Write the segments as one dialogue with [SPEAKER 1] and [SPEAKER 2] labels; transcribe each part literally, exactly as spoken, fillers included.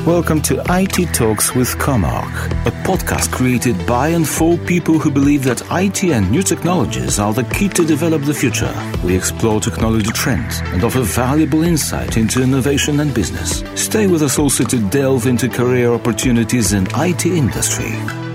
[SPEAKER 1] Welcome to I T Talks with Comarch, a podcast created by and for people who believe that I T and new technologies are the key to develop the future. We explore technology trends and offer valuable insight into innovation and business. Stay with us also to delve into career opportunities in I T industry.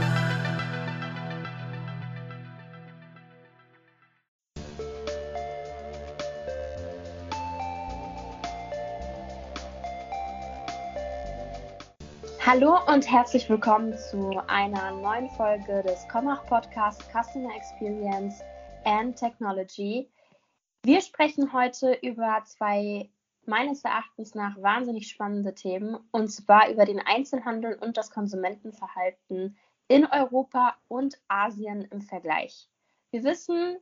[SPEAKER 2] Hallo und herzlich willkommen zu einer neuen Folge des Comarch Podcast Customer Experience and Technology. Wir sprechen heute über zwei meines Erachtens nach wahnsinnig spannende Themen, und zwar über den Einzelhandel und das Konsumentenverhalten in Europa und Asien im Vergleich. Wir wissen,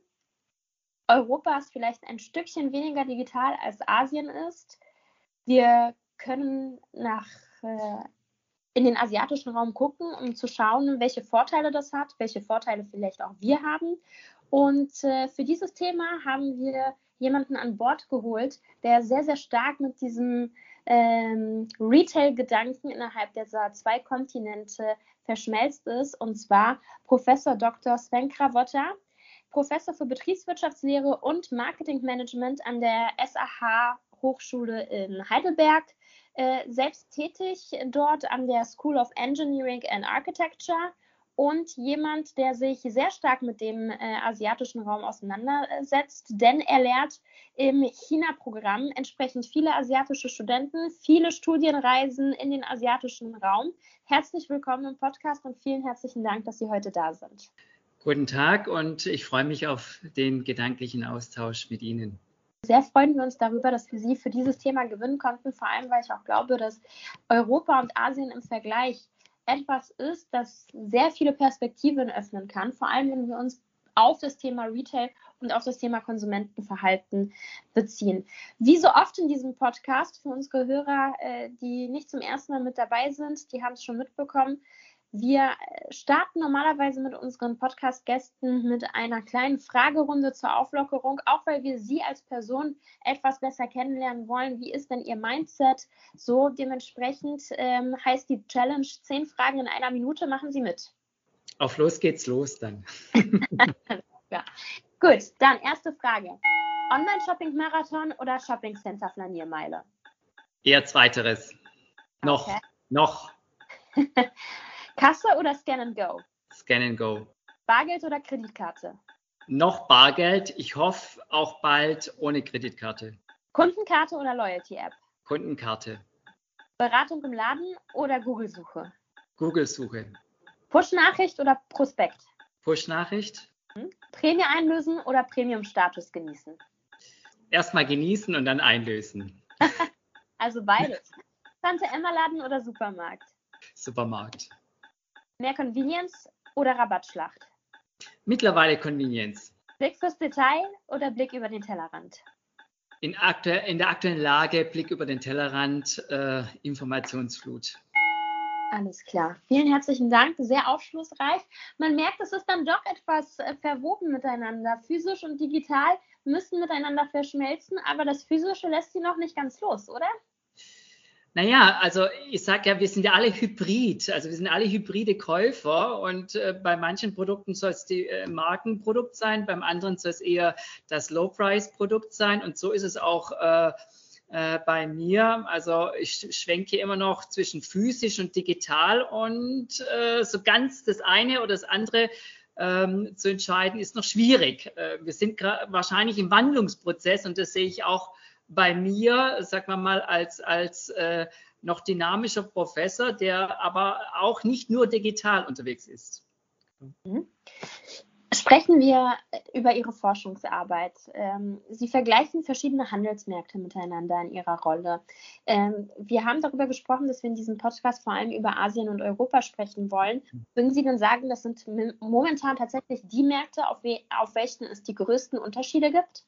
[SPEAKER 2] Europa ist vielleicht ein Stückchen weniger digital als Asien ist. Wir können nach äh, in den asiatischen Raum gucken, um zu schauen, welche Vorteile das hat, welche Vorteile vielleicht auch wir haben. Und äh, für dieses Thema haben wir jemanden an Bord geholt, der sehr, sehr stark mit diesem ähm, Retail-Gedanken innerhalb dieser zwei Kontinente verschmelzt ist, und zwar Professor Doktor Sven Krawotta, Professor für Betriebswirtschaftslehre und Marketingmanagement an der S A H Hochschule in Heidelberg, äh, selbst tätig dort an der School of Engineering and Architecture und jemand, der sich sehr stark mit dem äh, asiatischen Raum auseinandersetzt, denn er lehrt im China-Programm entsprechend viele asiatische Studenten, viele Studienreisen in den asiatischen Raum. Herzlich willkommen im Podcast und vielen herzlichen Dank, dass Sie heute da sind.
[SPEAKER 3] Guten Tag und ich freue mich auf den gedanklichen Austausch mit Ihnen.
[SPEAKER 2] Sehr freuen wir uns darüber, dass wir Sie für dieses Thema gewinnen konnten, vor allem, weil ich auch glaube, dass Europa und Asien im Vergleich etwas ist, das sehr viele Perspektiven öffnen kann, vor allem, wenn wir uns auf das Thema Retail und auf das Thema Konsumentenverhalten beziehen. Wie so oft in diesem Podcast, für unsere Hörer, die nicht zum ersten Mal mit dabei sind, die haben es schon mitbekommen, wir starten normalerweise mit unseren Podcast-Gästen mit einer kleinen Fragerunde zur Auflockerung, auch weil wir Sie als Person etwas besser kennenlernen wollen. Wie ist denn Ihr Mindset? So dementsprechend ähm, heißt die Challenge zehn Fragen in einer Minute. Machen Sie mit.
[SPEAKER 3] Auf los geht's los dann.
[SPEAKER 2] Ja. Gut, dann erste Frage. Online-Shopping-Marathon oder Shopping-Center-Flaniermeile?
[SPEAKER 3] Eher zweiteres. Noch.
[SPEAKER 2] Okay.
[SPEAKER 3] Noch.
[SPEAKER 2] Kasse oder Scan and Go?
[SPEAKER 3] Scan and Go.
[SPEAKER 2] Bargeld oder Kreditkarte?
[SPEAKER 3] Noch Bargeld. Ich hoffe auch bald ohne Kreditkarte.
[SPEAKER 2] Kundenkarte oder Loyalty-App?
[SPEAKER 3] Kundenkarte.
[SPEAKER 2] Beratung im Laden oder Google-Suche?
[SPEAKER 3] Google-Suche.
[SPEAKER 2] Push-Nachricht oder Prospekt?
[SPEAKER 3] Push-Nachricht.
[SPEAKER 2] Hm? Prämie einlösen oder Premium-Status genießen?
[SPEAKER 3] Erstmal genießen und dann einlösen.
[SPEAKER 2] Also beides. Tante-Emma-Laden oder Supermarkt?
[SPEAKER 3] Supermarkt.
[SPEAKER 2] Mehr Convenience oder Rabattschlacht?
[SPEAKER 3] Mittlerweile Convenience.
[SPEAKER 2] Blick fürs Detail oder Blick über den Tellerrand?
[SPEAKER 3] In, aktu- in der aktuellen Lage Blick über den Tellerrand, äh, Informationsflut.
[SPEAKER 2] Alles klar. Vielen herzlichen Dank. Sehr aufschlussreich. Man merkt, es ist dann doch etwas äh, verwoben miteinander. Physisch und digital müssen miteinander verschmelzen, aber das Physische lässt sie noch nicht ganz los, oder?
[SPEAKER 3] Naja, also ich sage ja, wir sind ja alle Hybrid, also wir sind alle hybride Käufer und äh, bei manchen Produkten soll es die äh, Markenprodukt sein, beim anderen soll es eher das Low-Price-Produkt sein, und so ist es auch äh, äh, bei mir. Also ich schwenke immer noch zwischen physisch und digital, und äh, so ganz das eine oder das andere ähm, zu entscheiden ist noch schwierig. Äh, wir sind gra- wahrscheinlich im Wandlungsprozess, und das sehe ich auch bei mir, sagen wir mal, als, als äh, noch dynamischer Professor, der aber auch nicht nur digital unterwegs ist.
[SPEAKER 2] Mhm. Sprechen wir über Ihre Forschungsarbeit. Ähm, Sie vergleichen verschiedene Handelsmärkte miteinander in Ihrer Rolle. Ähm, wir haben darüber gesprochen, dass wir in diesem Podcast vor allem über Asien und Europa sprechen wollen. Würden Sie denn sagen, das sind momentan tatsächlich die Märkte, auf, we- auf welchen es die größten Unterschiede gibt?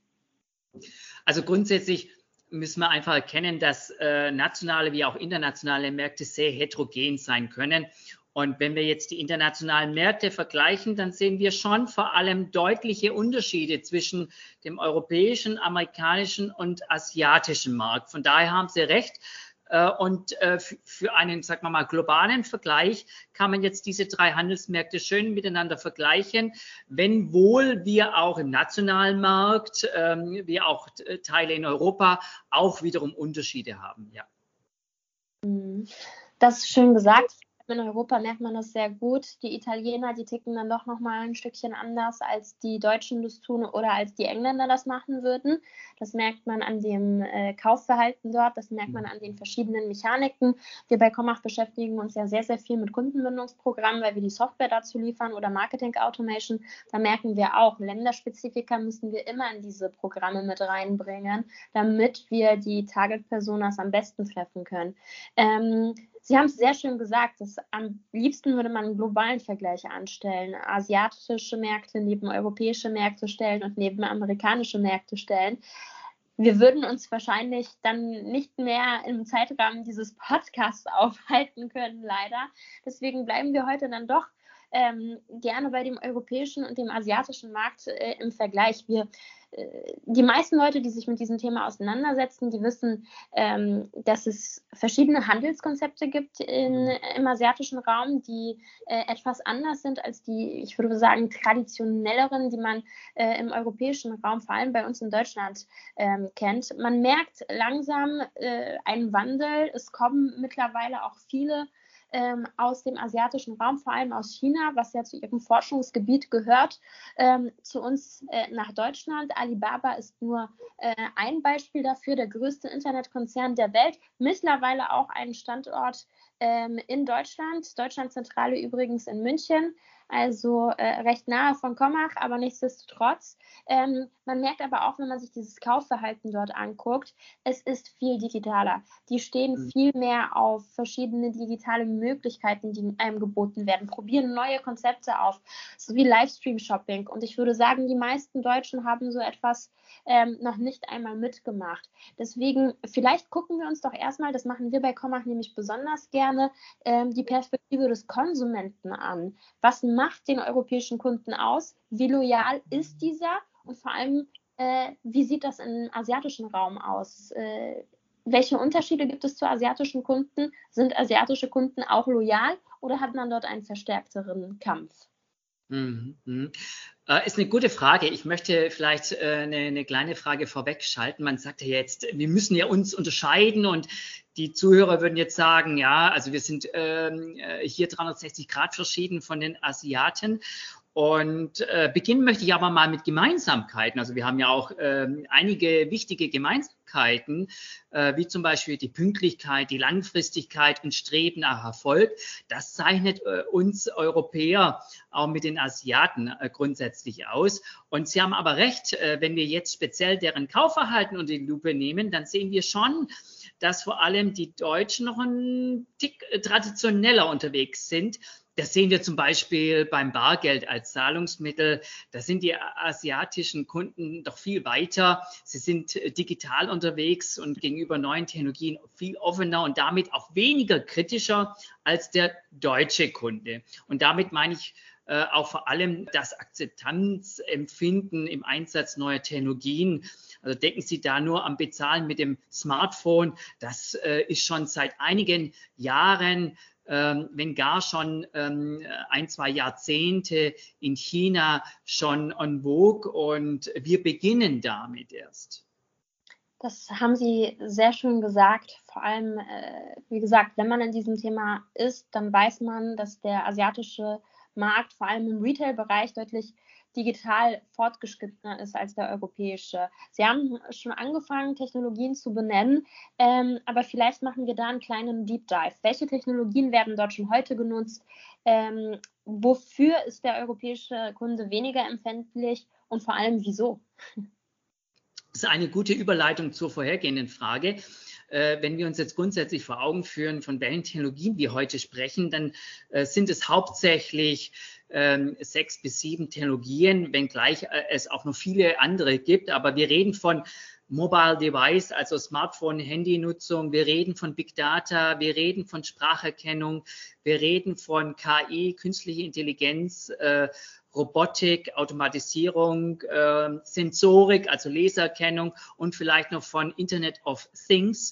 [SPEAKER 3] Also grundsätzlich müssen wir einfach erkennen, dass äh, nationale wie auch internationale Märkte sehr heterogen sein können. Und wenn wir jetzt die internationalen Märkte vergleichen, dann sehen wir schon vor allem deutliche Unterschiede zwischen dem europäischen, amerikanischen und asiatischen Markt. Von daher haben Sie recht, Und für einen, sagen wir mal, globalen Vergleich kann man jetzt diese drei Handelsmärkte schön miteinander vergleichen, wenn wohl wir auch im nationalen Markt, wie auch Teile in Europa, auch wiederum Unterschiede haben. Ja.
[SPEAKER 2] Das ist schön gesagt. In Europa merkt man das sehr gut. Die Italiener, die ticken dann doch nochmal ein Stückchen anders, als die Deutschen das tun oder als die Engländer das machen würden. Das merkt man an dem äh, Kaufverhalten dort, das merkt man an den verschiedenen Mechaniken. Wir bei Commach beschäftigen uns ja sehr, sehr viel mit Kundenbindungsprogrammen, weil wir die Software dazu liefern oder Marketing Automation. Da merken wir auch, Länderspezifika müssen wir immer in diese Programme mit reinbringen, damit wir die Target-Personas am besten treffen können. Ähm, Sie haben es sehr schön gesagt, dass am liebsten würde man einen globalen Vergleich anstellen, asiatische Märkte neben europäische Märkte stellen und neben amerikanische Märkte stellen. Wir würden uns wahrscheinlich dann nicht mehr im Zeitrahmen dieses Podcasts aufhalten können, leider. Deswegen bleiben wir heute dann doch ähm, gerne bei dem europäischen und dem asiatischen Markt äh, im Vergleich. Wir Die meisten Leute, die sich mit diesem Thema auseinandersetzen, die wissen, ähm, dass es verschiedene Handelskonzepte gibt in, im asiatischen Raum, die äh, etwas anders sind als die, ich würde sagen, traditionelleren, die man äh, im europäischen Raum, vor allem bei uns in Deutschland, ähm, kennt. Man merkt langsam äh, einen Wandel. Es kommen mittlerweile auch viele Ähm, aus dem asiatischen Raum, vor allem aus China, was ja zu ihrem Forschungsgebiet gehört, ähm, zu uns äh, nach Deutschland. Alibaba ist nur äh, ein Beispiel dafür, der größte Internetkonzern der Welt, mittlerweile auch einen Standort ähm, in Deutschland, Deutschlandzentrale übrigens in München, also äh, recht nahe von Commach, aber nichtsdestotrotz. Ähm, man merkt aber auch, wenn man sich dieses Kaufverhalten dort anguckt, es ist viel digitaler. Die stehen viel mehr auf verschiedene digitale Möglichkeiten, die einem geboten werden, probieren neue Konzepte auf, so wie Livestream-Shopping. Und ich würde sagen, die meisten Deutschen haben so etwas ähm, noch nicht einmal mitgemacht. Deswegen, vielleicht gucken wir uns doch erstmal, das machen wir bei Commach nämlich besonders gerne, ähm, die Perspektive des Konsumenten an. Was macht den europäischen Kunden aus? Wie loyal ist dieser? Und vor allem, äh, wie sieht das im asiatischen Raum aus? Äh, welche Unterschiede gibt es zu asiatischen Kunden? Sind asiatische Kunden auch loyal oder hat man dort einen verstärkteren Kampf?
[SPEAKER 3] Mhm. Äh, ist eine gute Frage. Ich möchte vielleicht äh, eine, eine kleine Frage vorwegschalten. Man sagt ja jetzt, wir müssen ja uns unterscheiden und die Zuhörer würden jetzt sagen, ja, also wir sind ähm, hier dreihundertsechzig Grad verschieden von den Asiaten. Und äh, beginnen möchte ich aber mal mit Gemeinsamkeiten. Also wir haben ja auch ähm, einige wichtige Gemeinsamkeiten, äh, wie zum Beispiel die Pünktlichkeit, die Langfristigkeit und Streben nach Erfolg. Das zeichnet äh, uns Europäer auch mit den Asiaten äh, grundsätzlich aus. Und Sie haben aber recht, äh, wenn wir jetzt speziell deren Kaufverhalten unter die Lupe nehmen, dann sehen wir schon, dass vor allem die Deutschen noch ein Tick äh, traditioneller unterwegs sind. Das sehen wir zum Beispiel beim Bargeld als Zahlungsmittel. Da sind die asiatischen Kunden doch viel weiter. Sie sind digital unterwegs und gegenüber neuen Technologien viel offener und damit auch weniger kritischer als der deutsche Kunde. Und damit meine ich äh, auch vor allem das Akzeptanzempfinden im Einsatz neuer Technologien. Also denken Sie da nur am Bezahlen mit dem Smartphone. Das äh, ist schon seit einigen Jahren, Ähm, wenn gar schon ähm, ein, zwei Jahrzehnte in China schon en vogue und wir beginnen damit erst.
[SPEAKER 2] Das haben Sie sehr schön gesagt. Vor allem, äh, wie gesagt, wenn man in diesem Thema ist, dann weiß man, dass der asiatische Markt vor allem im Retail-Bereich deutlich digital fortgeschrittener ist als der europäische. Sie haben schon angefangen, Technologien zu benennen, ähm, aber vielleicht machen wir da einen kleinen Deep Dive. Welche Technologien werden dort schon heute genutzt? Ähm, wofür ist der europäische Kunde weniger empfindlich und vor allem wieso?
[SPEAKER 3] Das ist eine gute Überleitung zur vorhergehenden Frage. Äh, wenn wir uns jetzt grundsätzlich vor Augen führen, von welchen Technologien wir heute sprechen, dann äh, sind es hauptsächlich ähm, sechs bis sieben Technologien, wenngleich äh, es auch noch viele andere gibt. Aber wir reden von Mobile Device, also Smartphone, Handynutzung. Wir reden von Big Data. Wir reden von Spracherkennung. Wir reden von K I, künstliche Intelligenz, äh, Robotik, Automatisierung, äh, Sensorik, also Lasererkennung und vielleicht noch von Internet of Things.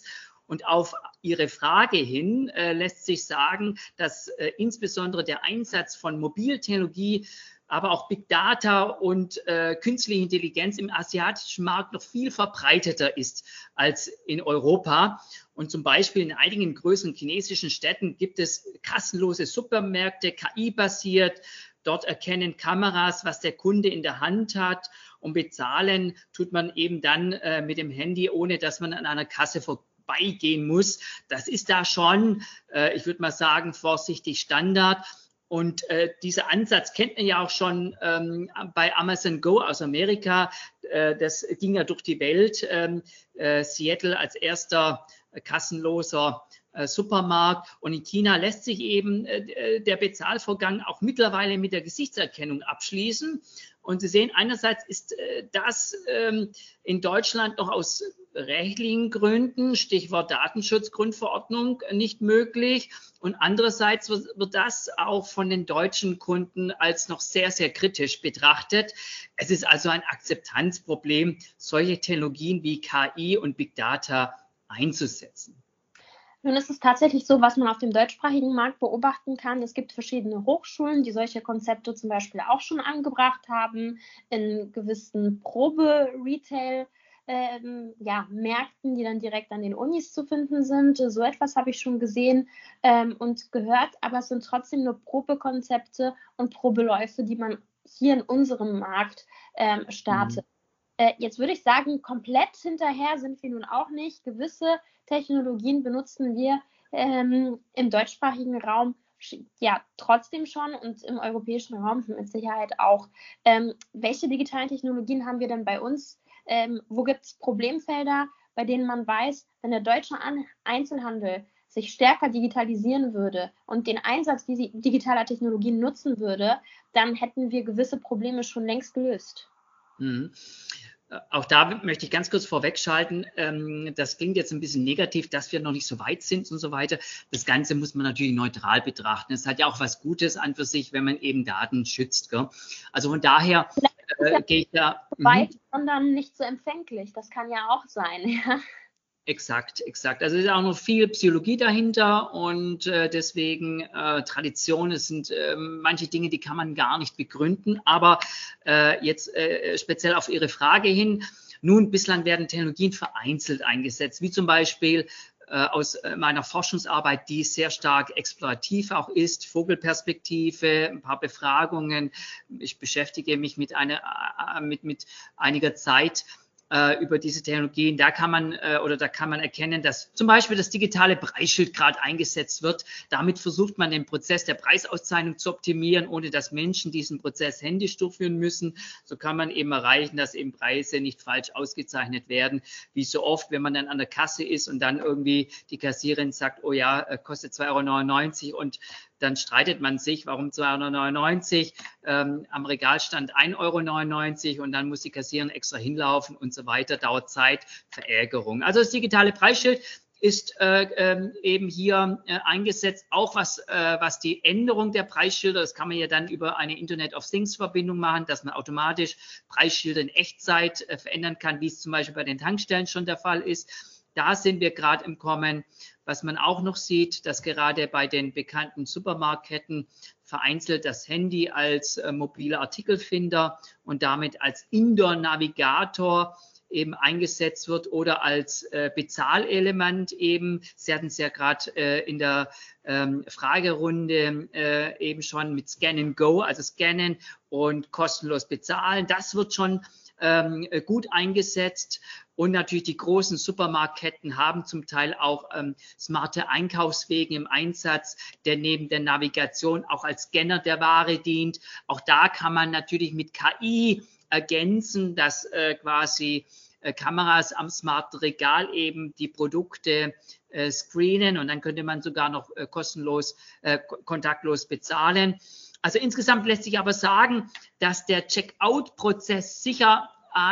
[SPEAKER 3] Und auf Ihre Frage hin äh, lässt sich sagen, dass äh, insbesondere der Einsatz von Mobiltechnologie, aber auch Big Data und äh, künstliche Intelligenz im asiatischen Markt noch viel verbreiteter ist als in Europa. Und zum Beispiel in einigen größeren chinesischen Städten gibt es kassenlose Supermärkte, K I-basiert. Dort erkennen Kameras, was der Kunde in der Hand hat, und bezahlen tut man eben dann äh, mit dem Handy, ohne dass man an einer Kasse vorbeigehen muss. Das ist da schon, äh, ich würde mal sagen, vorsichtig Standard. Und äh, dieser Ansatz kennt man ja auch schon ähm, bei Amazon Go aus Amerika. Äh, das ging ja durch die Welt. Ähm, äh, Seattle als erster äh, kassenloser äh, Supermarkt. Und in China lässt sich eben äh, der Bezahlvorgang auch mittlerweile mit der Gesichtserkennung abschließen. Und Sie sehen, einerseits ist äh, das ähm, in Deutschland noch aus rechtlichen Gründen, Stichwort Datenschutzgrundverordnung, nicht möglich. Und andererseits wird, wird das auch von den deutschen Kunden als noch sehr, sehr kritisch betrachtet. Es ist also ein Akzeptanzproblem, solche Technologien wie K I und Big Data einzusetzen.
[SPEAKER 2] Nun ist es tatsächlich so, was man auf dem deutschsprachigen Markt beobachten kann. Es gibt verschiedene Hochschulen, die solche Konzepte zum Beispiel auch schon angebracht haben, in gewissen Probe-Retail- Ähm, ja, Märkten, die dann direkt an den Unis zu finden sind. So etwas habe ich schon gesehen ähm, und gehört, aber es sind trotzdem nur Probekonzepte und Probeläufe, die man hier in unserem Markt ähm, startet. Mhm. Äh, jetzt würde ich sagen, komplett hinterher sind wir nun auch nicht. Gewisse Technologien benutzen wir ähm, im deutschsprachigen Raum ja trotzdem schon und im europäischen Raum mit Sicherheit auch. Ähm, welche digitalen Technologien haben wir denn bei uns? Ähm, wo gibt es Problemfelder, bei denen man weiß, wenn der deutsche An- Einzelhandel sich stärker digitalisieren würde und den Einsatz digitaler Technologien nutzen würde, dann hätten wir gewisse Probleme schon längst gelöst.
[SPEAKER 3] Mhm. Auch da möchte ich ganz kurz vorwegschalten, ähm, das klingt jetzt ein bisschen negativ, dass wir noch nicht so weit sind und so weiter. Das Ganze muss man natürlich neutral betrachten. Es hat ja auch was Gutes an für sich, wenn man eben Daten schützt. Gell? Also von daher äh, gehe ich da...
[SPEAKER 2] Weit, sondern nicht so empfänglich. Das kann ja auch sein. Ja.
[SPEAKER 3] Exakt, exakt. Also es ist auch noch viel Psychologie dahinter und äh, deswegen äh, Tradition, es sind äh, manche Dinge, die kann man gar nicht begründen. Aber äh, jetzt äh, speziell auf Ihre Frage hin, nun, bislang werden Technologien vereinzelt eingesetzt, wie zum Beispiel äh, aus meiner Forschungsarbeit, die sehr stark explorativ auch ist, Vogelperspektive, ein paar Befragungen. Ich beschäftige mich mit, einer, äh, mit, mit einiger Zeit über diese Technologien, da kann man äh, oder da kann man erkennen, dass zum Beispiel das digitale Preisschild gerade eingesetzt wird. Damit versucht man den Prozess der Preisauszeichnung zu optimieren, ohne dass Menschen diesen Prozess händisch durchführen müssen. So kann man eben erreichen, dass eben Preise nicht falsch ausgezeichnet werden, wie so oft, wenn man dann an der Kasse ist und dann irgendwie die Kassiererin sagt, oh ja, kostet zwei Euro neunundneunzig und dann streitet man sich, warum zwei Euro neunundneunzig, ähm, am Regal stand ein Euro neunundneunzig und dann muss die Kassiererin extra hinlaufen und so weiter, dauert Zeit, Verärgerung. Also das digitale Preisschild ist äh, äh, eben hier äh, eingesetzt, auch was, äh, was die Änderung der Preisschilder, das kann man ja dann über eine Internet of Things Verbindung machen, dass man automatisch Preisschilder in Echtzeit äh, verändern kann, wie es zum Beispiel bei den Tankstellen schon der Fall ist. Da sind wir gerade im Kommen. Was man auch noch sieht, dass gerade bei den bekannten Supermarktketten vereinzelt das Handy als äh, mobiler Artikelfinder und damit als Indoor-Navigator eben eingesetzt wird oder als äh, Bezahlelement eben. Sie hatten es ja gerade äh, in der ähm, Fragerunde äh, eben schon mit Scan and Go, also scannen und kostenlos bezahlen. Das wird schon ähm, gut eingesetzt. Und natürlich die großen Supermarktketten haben zum Teil auch ähm, smarte Einkaufswege im Einsatz, der neben der Navigation auch als Scanner der Ware dient. Auch da kann man natürlich mit K I ergänzen, dass äh, quasi äh, Kameras am smarten Regal eben die Produkte äh, screenen und dann könnte man sogar noch äh, kostenlos, äh, kontaktlos bezahlen. Also insgesamt lässt sich aber sagen, dass der Checkout-Prozess sicher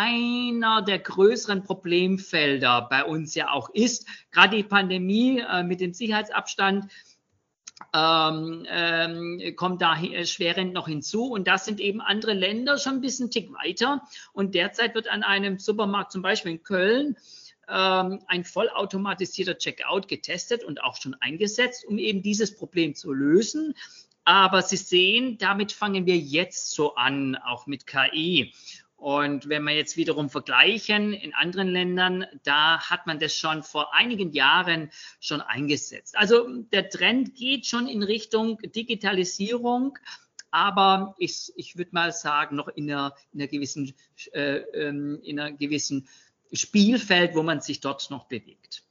[SPEAKER 3] einer der größeren Problemfelder bei uns ja auch ist. Gerade die Pandemie äh, mit dem Sicherheitsabstand ähm, ähm, kommt da schwerend noch hinzu. Und da sind eben andere Länder schon ein bisschen Tick weiter. Und derzeit wird an einem Supermarkt, zum Beispiel in Köln, ähm, ein vollautomatisierter Checkout getestet und auch schon eingesetzt, um eben dieses Problem zu lösen. Aber Sie sehen, damit fangen wir jetzt so an, auch mit K I. Und wenn wir jetzt wiederum vergleichen in anderen Ländern, da hat man das schon vor einigen Jahren schon eingesetzt. Also der Trend geht schon in Richtung Digitalisierung, aber ich, ich würde mal sagen, noch in einer, in einer gewissen, äh, in einer gewissen Spielfeld, wo man sich dort noch bewegt.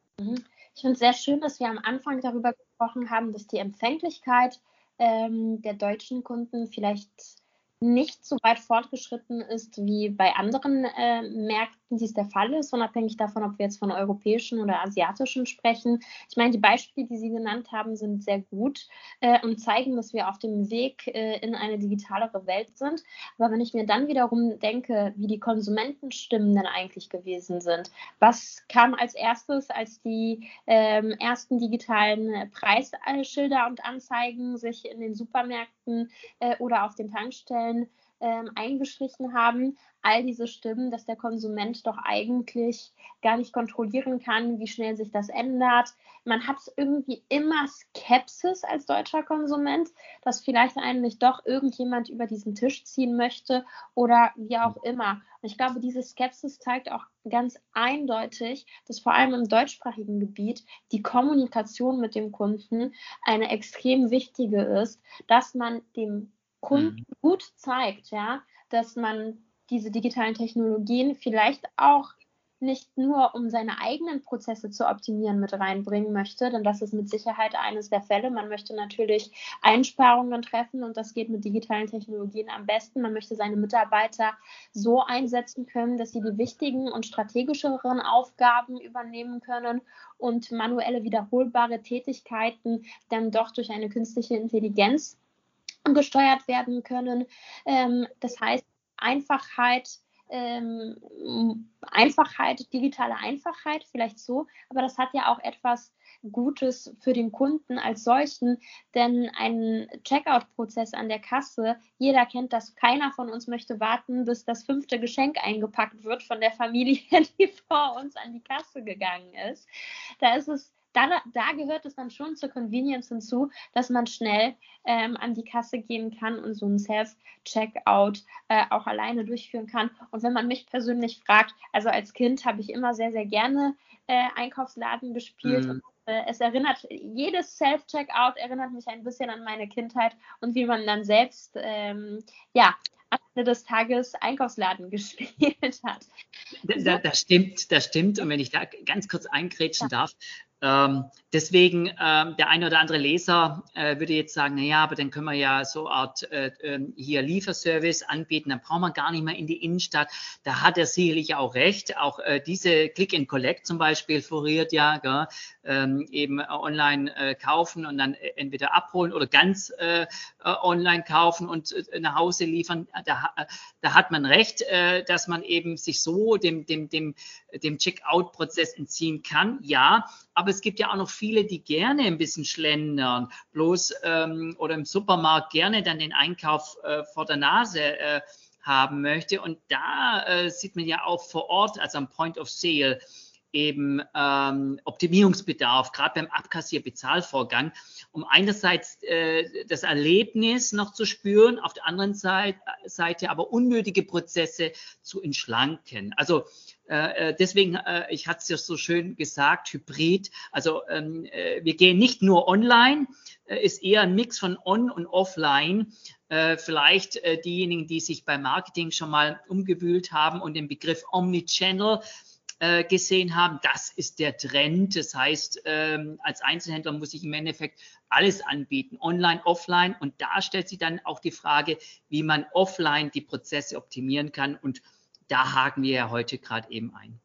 [SPEAKER 2] Ich finde es sehr schön, dass wir am Anfang darüber gesprochen haben, dass die Empfänglichkeit ähm, der deutschen Kunden vielleicht nicht so weit fortgeschritten ist wie bei anderen äh, Märkten, dies der Fall ist, unabhängig davon, ob wir jetzt von europäischen oder asiatischen sprechen. Ich meine, die Beispiele, die Sie genannt haben, sind sehr gut äh, und zeigen, dass wir auf dem Weg äh, in eine digitalere Welt sind. Aber wenn ich mir dann wiederum denke, wie die Konsumentenstimmen denn eigentlich gewesen sind, was kam als erstes, als die ähm, ersten digitalen Preisschilder und Anzeigen sich in den Supermärkten äh, oder auf den Tankstellen Ähm, eingeschlichen haben, all diese Stimmen, dass der Konsument doch eigentlich gar nicht kontrollieren kann, wie schnell sich das ändert. Man hat irgendwie immer Skepsis als deutscher Konsument, dass vielleicht eigentlich doch irgendjemand über diesen Tisch ziehen möchte oder wie auch immer. Und ich glaube, diese Skepsis zeigt auch ganz eindeutig, dass vor allem im deutschsprachigen Gebiet die Kommunikation mit dem Kunden eine extrem wichtige ist, dass man dem Kunden gut zeigt, ja, dass man diese digitalen Technologien vielleicht auch nicht nur, um seine eigenen Prozesse zu optimieren, mit reinbringen möchte, denn das ist mit Sicherheit eines der Fälle. Man möchte natürlich Einsparungen treffen und das geht mit digitalen Technologien am besten. Man möchte seine Mitarbeiter so einsetzen können, dass sie die wichtigen und strategischeren Aufgaben übernehmen können und manuelle wiederholbare Tätigkeiten dann doch durch eine künstliche Intelligenz gesteuert werden können. Ähm, das heißt, Einfachheit, ähm, Einfachheit, digitale Einfachheit, vielleicht so, aber das hat ja auch etwas Gutes für den Kunden als solchen, denn ein Checkout-Prozess an der Kasse, jeder kennt das, keiner von uns möchte warten, bis das fünfte Geschenk eingepackt wird von der Familie, die vor uns an die Kasse gegangen ist. Da ist es Da, da gehört es dann schon zur Convenience hinzu, dass man schnell ähm, an die Kasse gehen kann und so ein Self-Checkout äh, auch alleine durchführen kann. Und wenn man mich persönlich fragt, also als Kind habe ich immer sehr, sehr gerne äh, Einkaufsladen gespielt. Mhm. Und, äh, es erinnert, jedes Self-Checkout erinnert mich ein bisschen an meine Kindheit und wie man dann selbst, ähm, ja, am Ende des Tages Einkaufsladen gespielt hat.
[SPEAKER 3] Da, das stimmt, das stimmt. Und wenn ich da ganz kurz eingrätschen ja. darf, ähm, deswegen, ähm, der eine oder andere Leser äh, würde jetzt sagen, naja, aber dann können wir ja so eine Art äh, hier Lieferservice anbieten, dann brauchen wir gar nicht mehr in die Innenstadt. Da hat er sicherlich auch recht. Auch äh, diese Click and Collect zum Beispiel floriert ja, gell? Ähm, eben äh, online äh, kaufen und dann entweder abholen oder ganz äh, online kaufen und äh, nach Hause liefern. Da, da hat man recht, äh, dass man eben sich so dem, dem, dem, dem Checkout-Prozess entziehen kann. Ja, aber es gibt ja auch noch viele, die gerne ein bisschen schlendern, bloß ähm, oder im Supermarkt gerne dann den Einkauf äh, vor der Nase äh, haben möchte. Und da äh, sieht man ja auch vor Ort, also am Point of Sale, eben ähm, Optimierungsbedarf, gerade beim Abkassier-Bezahlvorgang, um einerseits äh, das Erlebnis noch zu spüren, auf der anderen Seite, Seite aber unnötige Prozesse zu entschlanken. Also äh, deswegen, äh, ich hatte es ja so schön gesagt, Hybrid, also ähm, äh, wir gehen nicht nur online, äh, ist eher ein Mix von on und offline. Äh, vielleicht äh, diejenigen, die sich beim Marketing schon mal umgewühlt haben und den Begriff Omnichannel gesehen haben, das ist der Trend. Das heißt, ähm, als Einzelhändler muss ich im Endeffekt alles anbieten, online, offline. Und da stellt sich dann auch die Frage, wie man offline die Prozesse optimieren kann. Und da haken wir ja heute gerade eben ein.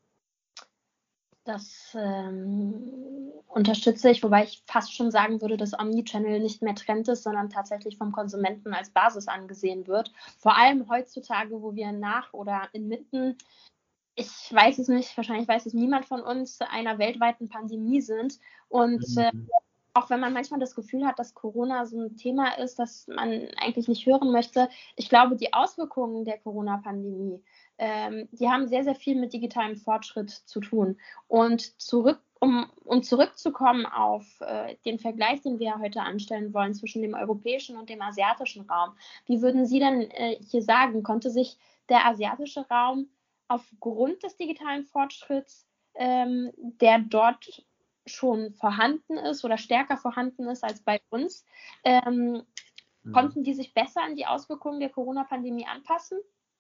[SPEAKER 2] Das ähm, unterstütze ich, wobei ich fast schon sagen würde, dass Omnichannel nicht mehr Trend ist, sondern tatsächlich vom Konsumenten als Basis angesehen wird. Vor allem heutzutage, wo wir nach oder inmitten, ich weiß es nicht, wahrscheinlich weiß es niemand von uns, einer weltweiten Pandemie sind. Und mhm. äh, auch wenn man manchmal das Gefühl hat, dass Corona so ein Thema ist, das man eigentlich nicht hören möchte, ich glaube, die Auswirkungen der Corona-Pandemie ähm, die haben sehr, sehr viel mit digitalem Fortschritt zu tun. Und zurück, um, um zurückzukommen auf äh, den Vergleich, den wir heute anstellen wollen zwischen dem europäischen und dem asiatischen Raum, wie würden Sie denn äh, hier sagen, konnte sich der asiatische Raum aufgrund des digitalen Fortschritts, ähm, der dort schon vorhanden ist oder stärker vorhanden ist als bei uns, ähm, mhm. konnten die sich besser an die Auswirkungen der Corona-Pandemie anpassen?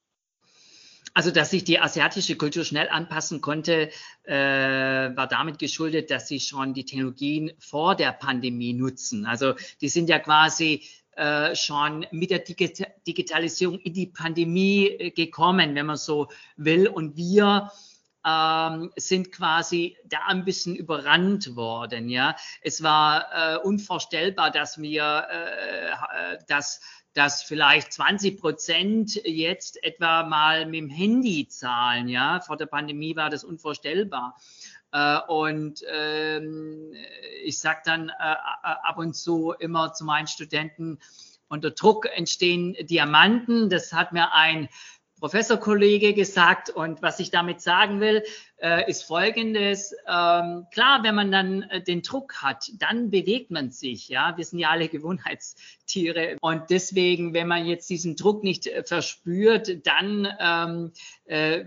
[SPEAKER 3] Also, dass sich die asiatische Kultur schnell anpassen konnte, äh, war damit geschuldet, dass sie schon die Technologien vor der Pandemie nutzen. Also, die sind ja quasi äh, schon mit der Digit- Digitalisierung in die Pandemie äh, gekommen, wenn man so will. Und wir ähm, sind quasi da ein bisschen überrannt worden. Ja, es war äh, unvorstellbar, dass wir äh, dass dass vielleicht zwanzig Prozent jetzt etwa mal mit dem Handy zahlen. Ja, vor der Pandemie war das unvorstellbar. Äh, und ähm, ich sage dann äh, ab und zu immer zu meinen Studenten, unter Druck entstehen Diamanten. Das hat mir ein Professorkollege gesagt, und was ich damit sagen will, äh, ist Folgendes. Ähm, klar, wenn man dann äh, den Druck hat, dann bewegt man sich. Ja, wir sind ja alle Gewohnheitstiere, und deswegen, wenn man jetzt diesen Druck nicht äh, verspürt, dann ähm, äh,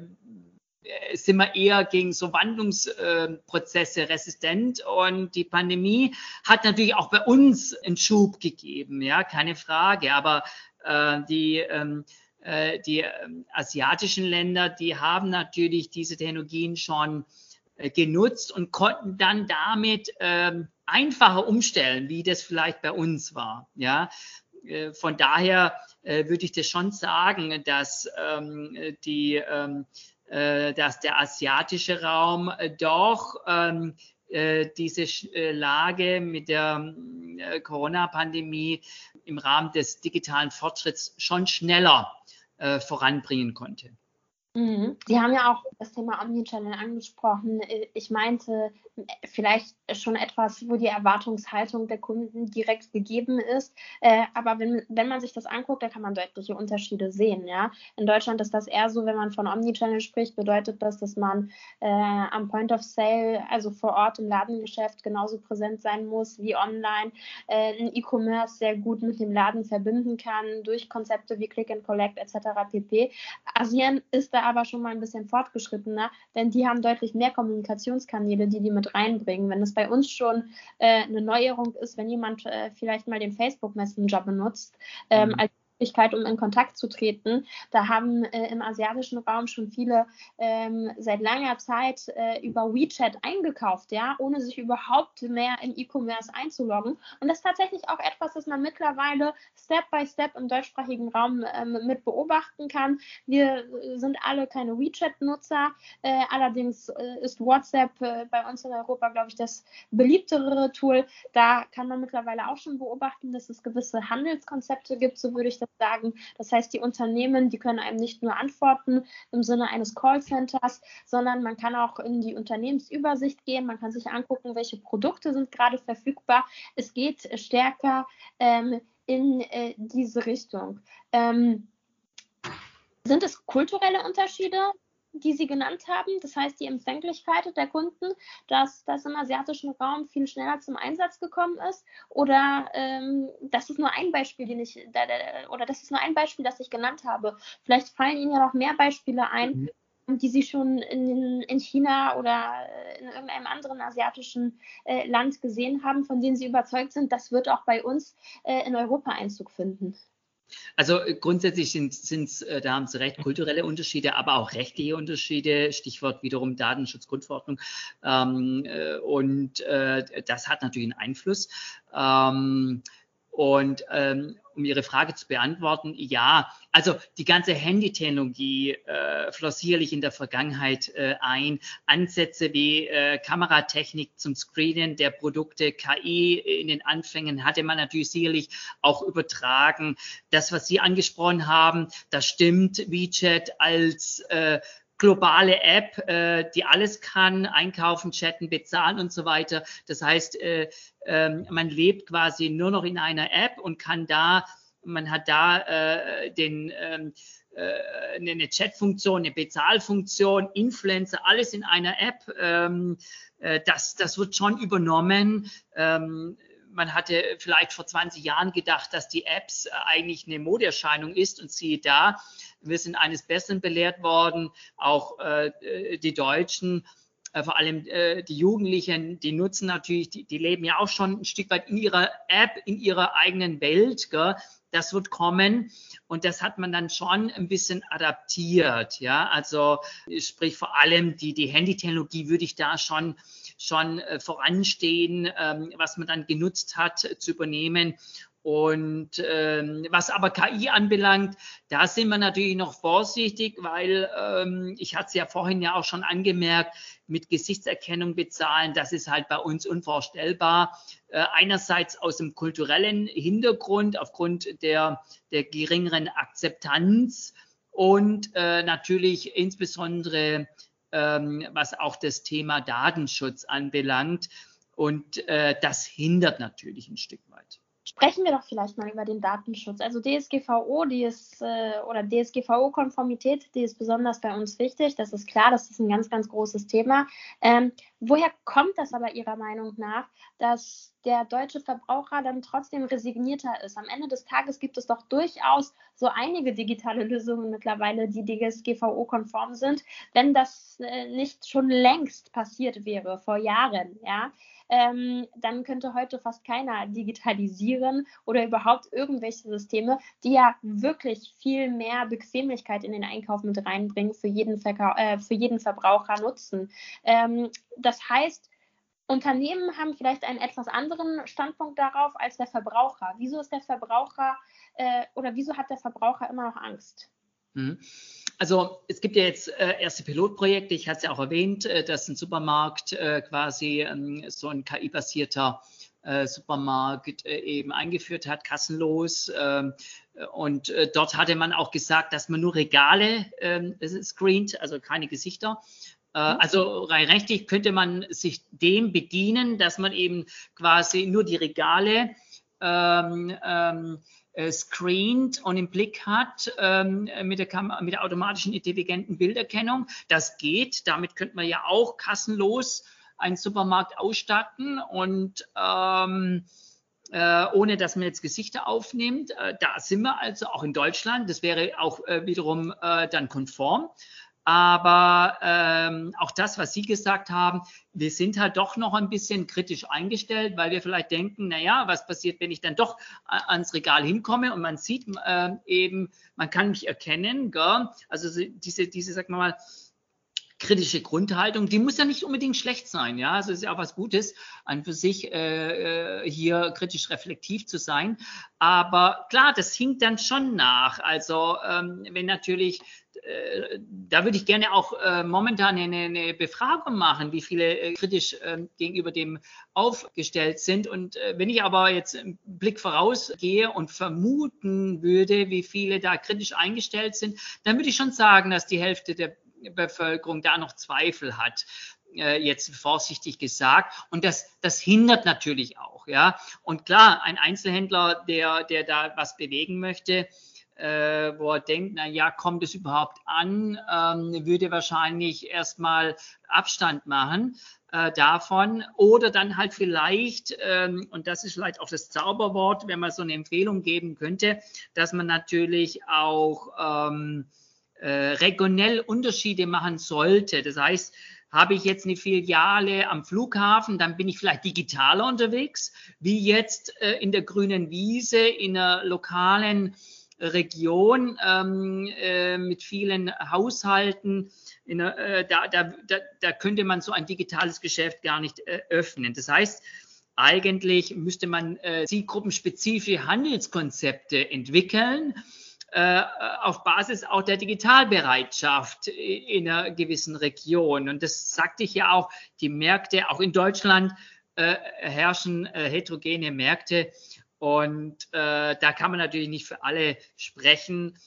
[SPEAKER 3] sind wir eher gegen so Wandlungsprozesse äh, resistent, und die Pandemie hat natürlich auch bei uns einen Schub gegeben, ja, keine Frage, aber äh, die ähm, Die äh, asiatischen Länder, die haben natürlich diese Technologien schon äh, genutzt und konnten dann damit äh, einfacher umstellen, wie das vielleicht bei uns war. Ja? Äh, von daher äh, würde ich das schon sagen, dass, ähm, die, ähm, äh, dass der asiatische Raum äh, doch ähm, äh, diese äh, Lage mit der äh, Corona-Pandemie im Rahmen des digitalen Fortschritts schon schneller Äh, voranbringen konnte.
[SPEAKER 2] Mhm. Sie haben ja auch das Thema Omnichannel angesprochen. Ich meinte vielleicht schon etwas, wo die Erwartungshaltung der Kunden direkt gegeben ist. Äh, aber wenn, wenn man sich das anguckt, da kann man deutliche Unterschiede sehen. Ja? In Deutschland ist das eher so, wenn man von Omnichannel spricht, bedeutet das, dass man äh, am Point of Sale, also vor Ort im Ladengeschäft, genauso präsent sein muss wie online, äh, ein E-Commerce sehr gut mit dem Laden verbinden kann, durch Konzepte wie Click and Collect et cetera pp. Asien ist da aber schon mal ein bisschen fortgeschrittener, denn die haben deutlich mehr Kommunikationskanäle, die die mit reinbringen. Wenn es bei uns schon äh, eine Neuerung ist, wenn jemand äh, vielleicht mal den Facebook Messenger benutzt, ähm, mhm. als Möglichkeit, um in Kontakt zu treten. Da haben äh, im asiatischen Raum schon viele ähm, seit langer Zeit äh, über WeChat eingekauft, ja, ohne sich überhaupt mehr im E-Commerce einzuloggen. Und das ist tatsächlich auch etwas, das man mittlerweile Step by Step im deutschsprachigen Raum ähm, mit beobachten kann. Wir sind alle keine WeChat-Nutzer, äh, allerdings äh, ist WhatsApp äh, bei uns in Europa, glaube ich, das beliebtere Tool. Da kann man mittlerweile auch schon beobachten, dass es gewisse Handelskonzepte gibt, so würde ich das sagen. Das heißt, die Unternehmen, die können einem nicht nur antworten im Sinne eines Callcenters, sondern man kann auch in die Unternehmensübersicht gehen, man kann sich angucken, welche Produkte sind gerade verfügbar. Es geht stärker ähm, in äh, diese Richtung. Ähm, sind es kulturelle Unterschiede, die Sie genannt haben? Das heißt, die Empfänglichkeit der Kunden, dass das im asiatischen Raum viel schneller zum Einsatz gekommen ist? Oder ähm, das ist nur ein Beispiel, den ich, oder das ist nur ein Beispiel, das ich genannt habe. Vielleicht fallen Ihnen ja noch mehr Beispiele ein, mhm. die Sie schon in, in China oder in irgendeinem anderen asiatischen äh, Land gesehen haben, von denen Sie überzeugt sind, das wird auch bei uns äh, in Europa Einzug finden.
[SPEAKER 3] Also grundsätzlich sind es, äh, da haben Sie recht, kulturelle Unterschiede, aber auch rechtliche Unterschiede, Stichwort wiederum Datenschutzgrundverordnung. Ähm, äh, und äh, das hat natürlich einen Einfluss. Ähm, und ähm, um Ihre Frage zu beantworten, ja, also die ganze Handy-Technologie äh, floss sicherlich in der Vergangenheit äh, ein. Ansätze wie äh, Kameratechnik zum Screenen der Produkte, K I in den Anfängen hatte man natürlich sicherlich auch übertragen. Das, was Sie angesprochen haben, das stimmt. WeChat als äh, globale App, äh, die alles kann, einkaufen, chatten, bezahlen und so weiter. Das heißt, äh, äh, man lebt quasi nur noch in einer App und kann da, man hat da äh, den, äh, äh, eine Chat-Funktion, eine Bezahlfunktion, Influencer, alles in einer App. Ähm, äh, das, das wird schon übernommen. Ähm, Man hatte vielleicht vor zwanzig Jahren gedacht, dass die Apps eigentlich eine Modeerscheinung ist und siehe da, wir sind eines Besseren belehrt worden, auch äh, die Deutschen, äh, vor allem äh, die Jugendlichen, die nutzen natürlich, die, die leben ja auch schon ein Stück weit in ihrer App, in ihrer eigenen Welt, gell? Das wird kommen und das hat man dann schon ein bisschen adaptiert, ja, also sprich vor allem die, die Handytechnologie würde ich da schon schon äh, voranstehen, ähm, was man dann genutzt hat, äh, zu übernehmen. Und ähm, was aber K I anbelangt, da sind wir natürlich noch vorsichtig, weil ähm, ich hatte es ja vorhin ja auch schon angemerkt, mit Gesichtserkennung bezahlen, das ist halt bei uns unvorstellbar. Äh, einerseits aus dem kulturellen Hintergrund, aufgrund der, der geringeren Akzeptanz und äh, natürlich insbesondere ähm, was auch das Thema Datenschutz anbelangt. Und äh, das hindert natürlich ein Stück weit.
[SPEAKER 2] Sprechen wir doch vielleicht mal über den Datenschutz. Also D S G V O, die ist, äh, oder D S G V O-Konformität, die ist besonders bei uns wichtig. Das ist klar, das ist ein ganz, ganz großes Thema. Ähm, woher kommt das aber Ihrer Meinung nach, dass der deutsche Verbraucher dann trotzdem resignierter ist? Am Ende des Tages gibt es doch durchaus so einige digitale Lösungen mittlerweile, die D S G V O-konform sind, wenn das äh, nicht schon längst passiert wäre, vor Jahren, ja. Ähm, dann könnte heute fast keiner digitalisieren oder überhaupt irgendwelche Systeme, die ja wirklich viel mehr Bequemlichkeit in den Einkauf mit reinbringen, für jeden, Verka- äh, für jeden Verbraucher nutzen. Ähm, das heißt, Unternehmen haben vielleicht einen etwas anderen Standpunkt darauf als der Verbraucher. Wieso ist der Verbraucher äh, oder wieso hat der Verbraucher immer noch Angst?
[SPEAKER 3] Also es gibt ja jetzt äh, erste Pilotprojekte, ich hatte es ja auch erwähnt, äh, dass ein Supermarkt äh, quasi ähm, so ein K I-basierter äh, Supermarkt äh, eben eingeführt hat, kassenlos. Äh, und äh, dort hatte man auch gesagt, dass man nur Regale äh, screent, also keine Gesichter. Äh, also rein rechtlich könnte man sich dem bedienen, dass man eben quasi nur die Regale ähm, ähm, screent und im Blick hat ähm, mit, der Kam- mit der automatischen intelligenten Bilderkennung. Das geht. Damit könnte man ja auch kassenlos einen Supermarkt ausstatten und ähm, äh, ohne dass man jetzt Gesichter aufnimmt. Äh, da sind wir also auch in Deutschland. Das wäre auch äh, wiederum äh, dann konform. Aber ähm, auch das, was Sie gesagt haben, wir sind halt doch noch ein bisschen kritisch eingestellt, weil wir vielleicht denken, naja, was passiert, wenn ich dann doch ans Regal hinkomme und man sieht äh, eben, man kann mich erkennen, gell? Also diese, diese, sag mal, kritische Grundhaltung, die muss ja nicht unbedingt schlecht sein, ja, also es ist ja auch was Gutes, an für sich äh, hier kritisch reflektiv zu sein, aber klar, das hinkt dann schon nach, also ähm, wenn natürlich, äh, da würde ich gerne auch äh, momentan eine, eine Befragung machen, wie viele äh, kritisch äh, gegenüber dem aufgestellt sind und äh, wenn ich aber jetzt einen Blick vorausgehe und vermuten würde, wie viele da kritisch eingestellt sind, dann würde ich schon sagen, dass die Hälfte der Bevölkerung da noch Zweifel hat, äh, jetzt vorsichtig gesagt. Und das, das hindert natürlich auch, ja. Und klar, ein Einzelhändler, der, der da was bewegen möchte, äh, wo er denkt, na ja, kommt es überhaupt an, ähm, würde wahrscheinlich erstmal Abstand machen äh, davon oder dann halt vielleicht, ähm, und das ist vielleicht auch das Zauberwort, wenn man so eine Empfehlung geben könnte, dass man natürlich auch ähm, Äh, regionell Unterschiede machen sollte. Das heißt, habe ich jetzt eine Filiale am Flughafen, dann bin ich vielleicht digitaler unterwegs, wie jetzt äh, in der grünen Wiese, in einer lokalen Region ähm, äh, mit vielen Haushalten. In einer, äh, da, da, da, da könnte man so ein digitales Geschäft gar nicht äh, öffnen. Das heißt, eigentlich müsste man äh, zielgruppenspezifische Handelskonzepte entwickeln, auf Basis auch der Digitalbereitschaft in einer gewissen Region. Und das sagte ich ja auch, die Märkte, auch in Deutschland äh, herrschen äh, heterogene Märkte. Und äh, da kann man natürlich nicht für alle sprechen.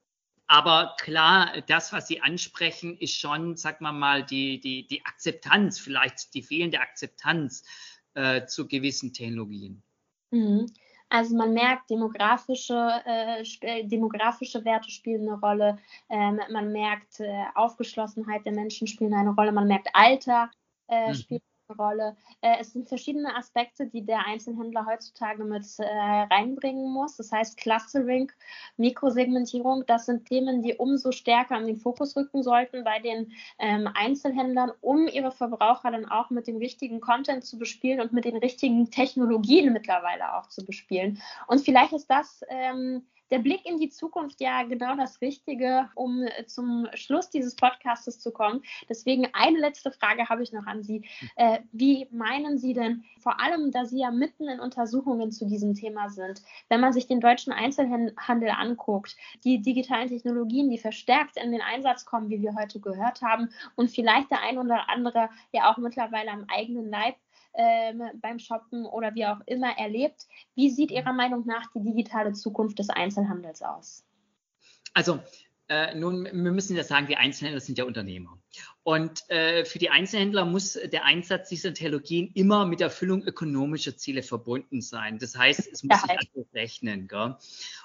[SPEAKER 3] Aber klar, das, was Sie ansprechen, ist schon, sagen wir mal, die, die, die Akzeptanz, vielleicht die fehlende Akzeptanz äh, zu gewissen Technologien.
[SPEAKER 2] Mhm. Also man merkt, demografische, äh, sp- demografische Werte spielen eine Rolle, ähm, man merkt, äh, Aufgeschlossenheit der Menschen spielen eine Rolle, man merkt Alter äh,
[SPEAKER 3] Mhm.
[SPEAKER 2] spielt eine Rolle. Äh, es sind verschiedene Aspekte, die der Einzelhändler heutzutage mit äh, reinbringen muss. Das heißt Clustering, Mikrosegmentierung, das sind Themen, die umso stärker in den Fokus rücken sollten bei den ähm, Einzelhändlern, um ihre Verbraucher dann auch mit dem richtigen Content zu bespielen und mit den richtigen Technologien mittlerweile auch zu bespielen. Und vielleicht ist das ähm, der Blick in die Zukunft ja genau das Richtige, um äh, zum Schluss dieses Podcastes zu kommen. Deswegen eine letzte Frage habe ich noch an Sie. Äh, wie meinen Sie denn, vor allem, da Sie ja mitten in Untersuchungen zu diesem Thema sind, wenn man sich den deutschen Einzelhandel anguckt, die digitalen Technologien, die verstärkt in den Einsatz kommen, wie wir heute gehört haben, und vielleicht der ein oder andere ja auch mittlerweile am eigenen Leib ähm, beim Shoppen oder wie auch immer erlebt. Wie sieht Ihrer Meinung nach die digitale Zukunft des Einzelhandels aus?
[SPEAKER 3] Also äh, nun, wir müssen ja sagen, die Einzelhändler sind ja Unternehmer. Und äh, für die Einzelhändler muss der Einsatz dieser Technologien immer mit der Erfüllung ökonomischer Ziele verbunden sein. Das heißt, es muss sich also rechnen. Gell?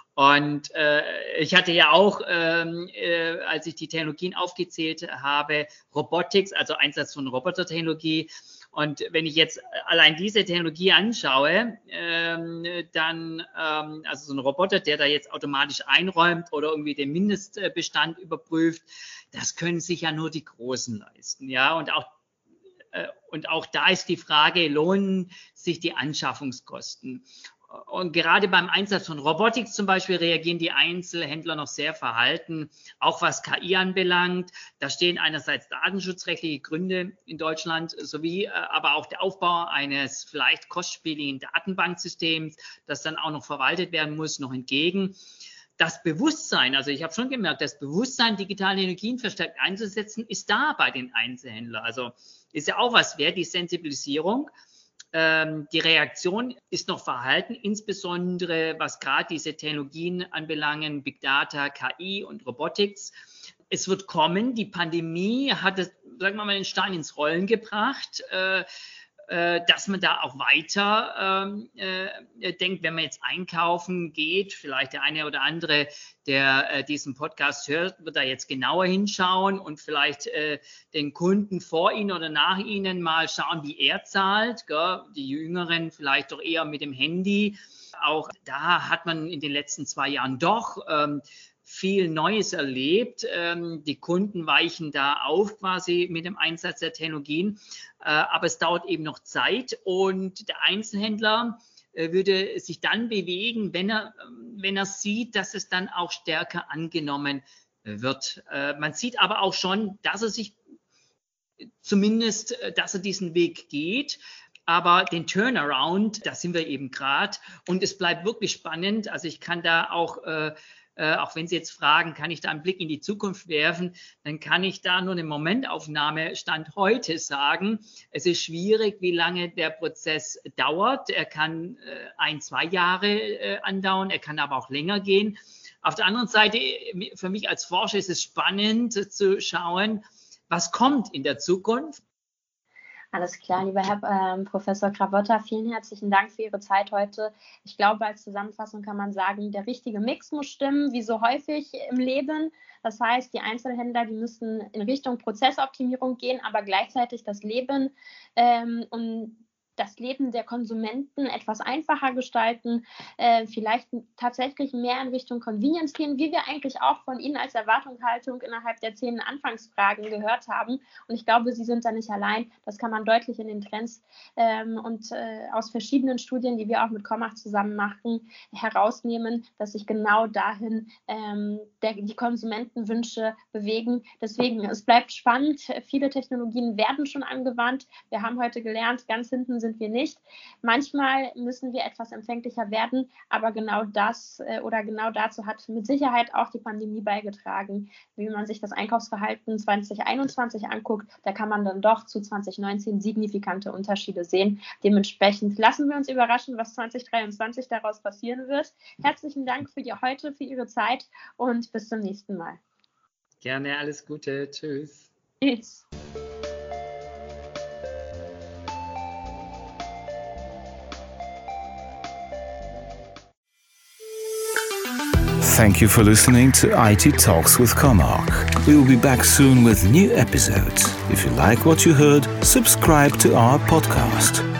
[SPEAKER 3] Und äh, ich hatte ja auch, ähm, äh, als ich die Technologien aufgezählt habe, Robotics, also Einsatz von Robotertechnologie. Und wenn ich jetzt allein diese Technologie anschaue, ähm, dann, ähm, also so ein Roboter, der da jetzt automatisch einräumt oder irgendwie den Mindestbestand überprüft, das können sich ja nur die Großen leisten. Ja, und auch, äh, und auch da ist die Frage, lohnen sich die Anschaffungskosten? Und gerade beim Einsatz von Robotik zum Beispiel reagieren die Einzelhändler noch sehr verhalten, auch was K I anbelangt. Da stehen einerseits datenschutzrechtliche Gründe in Deutschland sowie äh, aber auch der Aufbau eines vielleicht kostspieligen Datenbanksystems, das dann auch noch verwaltet werden muss, noch entgegen. Das Bewusstsein, also ich habe schon gemerkt, das Bewusstsein, digitale Energien verstärkt einzusetzen, ist da bei den Einzelhändlern. Also ist ja auch was wert, die Sensibilisierung. Ähm, die Reaktion ist noch verhalten, insbesondere was gerade diese Technologien anbelangen, Big Data, K I und Robotics. Es wird kommen, die Pandemie hat, es, sagen wir mal, den Stein ins Rollen gebracht, äh, äh, dass man da auch weiter äh, denkt, wenn man jetzt einkaufen geht, vielleicht der eine oder andere, der äh, diesen Podcast hört, wird da jetzt genauer hinschauen und vielleicht äh, den Kunden vor Ihnen oder nach Ihnen mal schauen, wie er zahlt. Gell? Die Jüngeren vielleicht doch eher mit dem Handy. Auch da hat man in den letzten zwei Jahren doch ähm, viel Neues erlebt. Ähm, die Kunden weichen da auf quasi mit dem Einsatz der Technologien. Äh, aber es dauert eben noch Zeit und der Einzelhändler äh, würde sich dann bewegen, wenn er, wenn er sieht, dass es dann auch stärker angenommen wird. Äh, man sieht aber auch schon, dass er sich zumindest, dass er diesen Weg geht. Aber den Turnaround, da sind wir eben gerade. Und es bleibt wirklich spannend. Also ich kann da auch äh, Äh, auch wenn Sie jetzt fragen, kann ich da einen Blick in die Zukunft werfen, dann kann ich da nur eine Momentaufnahme Stand heute sagen. Es ist schwierig, wie lange der Prozess dauert. Er kann äh, ein, zwei Jahre äh, andauern, er kann aber auch länger gehen. Auf der anderen Seite, für mich als Forscher ist es spannend zu schauen, was kommt in der Zukunft.
[SPEAKER 2] Alles klar, lieber Herr ähm, Professor Gravotta, vielen herzlichen Dank für Ihre Zeit heute. Ich glaube, als Zusammenfassung kann man sagen, der richtige Mix muss stimmen, wie so häufig im Leben. Das heißt, die Einzelhändler, die müssen in Richtung Prozessoptimierung gehen, aber gleichzeitig das Leben ähm, und das Leben der Konsumenten etwas einfacher gestalten, äh, vielleicht tatsächlich mehr in Richtung Convenience gehen, wie wir eigentlich auch von Ihnen als Erwartungshaltung innerhalb der zehn Anfangsfragen gehört haben. Und ich glaube, Sie sind da nicht allein. Das kann man deutlich in den Trends ähm, und äh, aus verschiedenen Studien, die wir auch mit Commach zusammen machen, herausnehmen, dass sich genau dahin ähm, der, die Konsumentenwünsche bewegen. Deswegen, es bleibt spannend. Viele Technologien werden schon angewandt. Wir haben heute gelernt, ganz hinten sind sind wir nicht. Manchmal müssen wir etwas empfänglicher werden, aber genau das äh, oder genau dazu hat mit Sicherheit auch die Pandemie beigetragen. Wie man sich das Einkaufsverhalten zwanzig einundzwanzig anguckt, da kann man dann doch zu zwanzig neunzehn signifikante Unterschiede sehen. Dementsprechend lassen wir uns überraschen, was zwanzig dreiundzwanzig daraus passieren wird. Herzlichen Dank für die heute, für Ihre Zeit und bis zum nächsten Mal.
[SPEAKER 3] Gerne, alles Gute. Tschüss.
[SPEAKER 2] Tschüss.
[SPEAKER 1] Thank you for listening to I T Talks with Comarch. We will be back soon with new episodes. If you like what you heard, subscribe to our podcast.